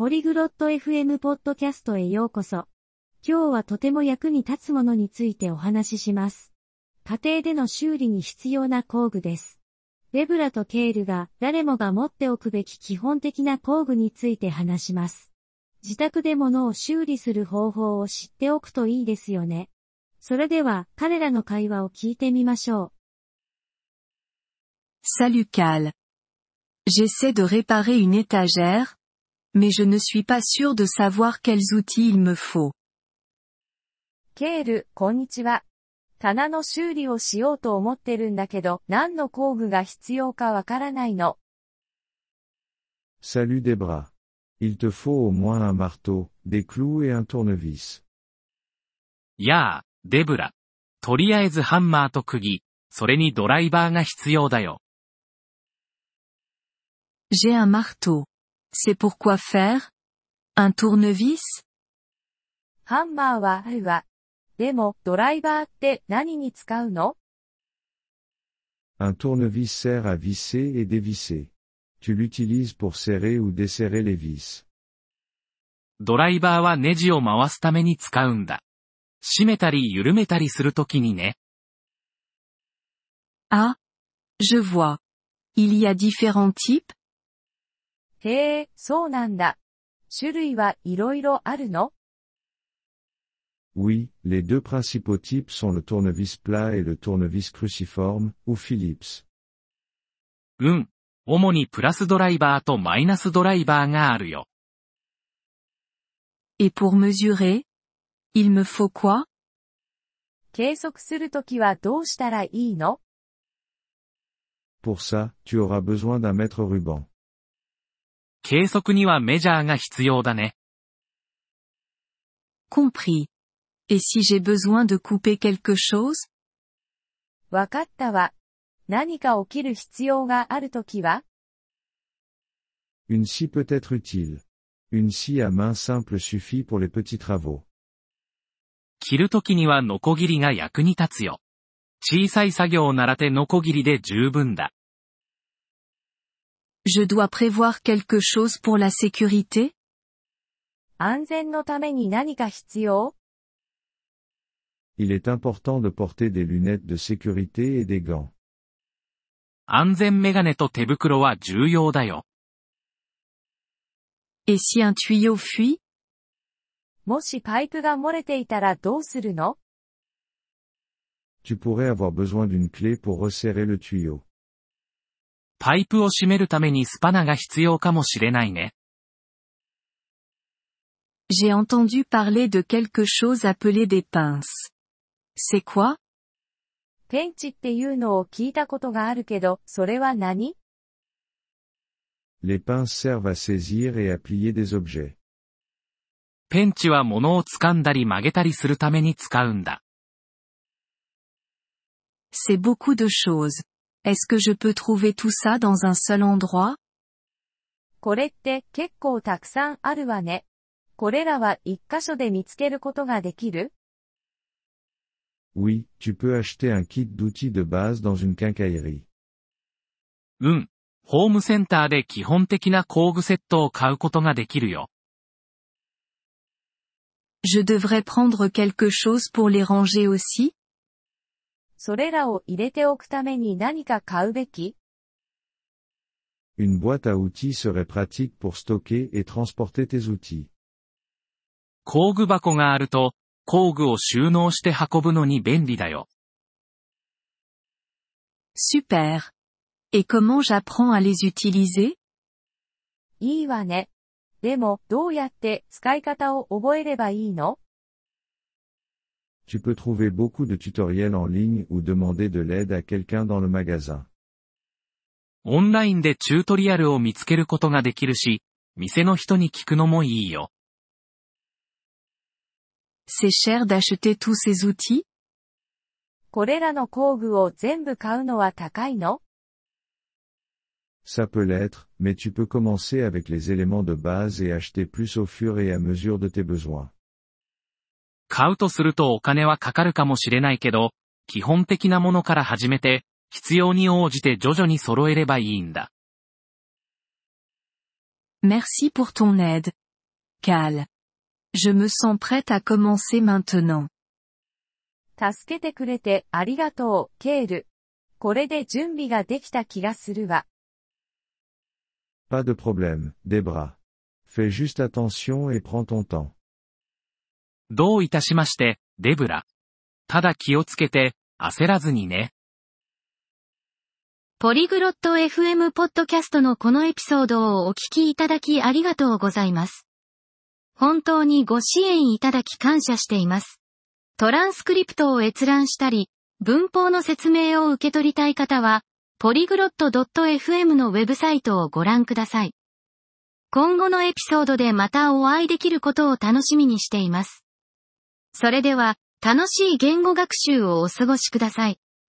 ポリグロット FM ポッドキャストへようこそ。今日はとても役に立つものについてお話しします。家庭での修理に必要な工具です。デブラとケールが誰もが持っておくべき基本的な工具について話します。自宅で物を修理する方法を知っておくといいですよね。それでは彼らの会話を聞いてみましょう。 Salut Cal. J'essaie de réparer une étagère, mais je ne suis pas sûr de savoir quels outils il me faut. ケール、こんにちは。棚の修理をしようと思ってるんだけど、何の工具が必要かわからないの。 Salut Debra. Il te faut au moins un marteau, des clous et un tournevis. やあ、デブラ。とりあえずハンマーと釘、それにドライバーが必要だよ。 J'ai un marteau. C'est pour quoi faire? Un tournevis? ハンマーはあるわ。でも、ドライバーって何に使うの？ Un tournevis sert à visser et dévisser. Tu l'utilises pour serrer ou desserrer les vis. ドライバーはネジを回すために使うんだ。締めたり緩めたりするときにね。 Ah, je vois. Il y a différents types? へえ、そうなんだ。種類はいろいろあるの？ Oui, les deux principaux types sont le tournevis plat et le tournevis cruciforme, ou Phillips. うん。主にプラスドライバーとマイナスドライバーがあるよ。 Et pour mesurer? Il me faut quoi? 計測するときはどうしたらいいの？ Pour ça, tu auras besoin d'un mètre ruban. 計測にはメジャーが必要だね。 Compris. Et si j'ai besoin de couper quelque chose? わかったわ。何か起きる必要があるときは？ Une scie peut être utile. Une scie à main simple suffit pour les petits travaux. 切るときにはノコギリが役に立つよ。小さい作業なら手ノコギリで十分だ。 Je dois prévoir quelque chose pour la sécurité? 安全のために何か必要？ Il est important de porter des lunettes de sécurité et des gants. 安全メガネと手袋は重要だよ。 Et si un tuyau fuit? もしパイプが漏れていたらどうするの？ Tu pourrais avoir besoin d'une clé pour resserrer le tuyau. パイプを閉めるためにスパナが必要かもしれないね。 J'ai entendu parler de quelque chose appelé des pinces. C'est quoi? ペンチっていうのを聞いたことがあるけど、それは何？ Les pinces servent à saisir et à plier des objets. ペンチは物を掴んだり曲げたりするために使うんだ。 C'est beaucoup de choses. Est-ce que je peux trouver tout ça dans un seul endroit? これって結構たくさんあるわね。これらは一箇所で見つけることができる？ Oui, tu peux acheter un kit d'outils de base dans une quincaillerie. うん。ホームセンターで基本的な工具セットを買うことができるよ。 Je devrais prendre quelque chose pour les ranger aussi? それらを入れておくために何か買うべき？ Une boîte à outils serait pratique pour stocker et transporter tes outils. 工具箱があると、工具を収納して運ぶのに便利だよ。 Super. Et comment j'apprends à les utiliser? いいわね。でも、どうやって使い方を覚えればいいの？ Tu peux trouver beaucoup de tutoriels en ligne ou demander de l'aide à quelqu'un dans le magasin. オンラインでチュートリアルを見つけることができるし、店の人に聞くのもいいよ。 C'est cher d'acheter tous ces outils? これらの工具を全部買うのは高いの？ Ça peut l'être, mais tu peux commencer avec les éléments de base et acheter plus au fur et à mesure de tes besoins. 買うとするとお金はかかるかもしれないけど、基本的なものから始めて、必要に応じて徐々に揃えればいいんだ。 Merci pour ton aide. Cal. Je me sens prête à commencer maintenant. 助けてくれてありがとう、ケール。これで準備ができた気がするわ。 Pas de problème, Debra. Fais juste attention et prends ton temps. どういたしまして、デブラ。ただ気をつけて、焦らずにね。 ポリグロット FM ポッドキャストのこのエピソードをお聞きいただきありがとうございます。本当にご支援いただき感謝しています。トランスクリプトを閲覧したり、文法の説明を受け取りたい方は、ポリグロット .fm のウェブサイトをご覧ください。今後のエピソードでまたお会いできることを楽しみにしています。それでは、楽しい言語学習をお過ごしください。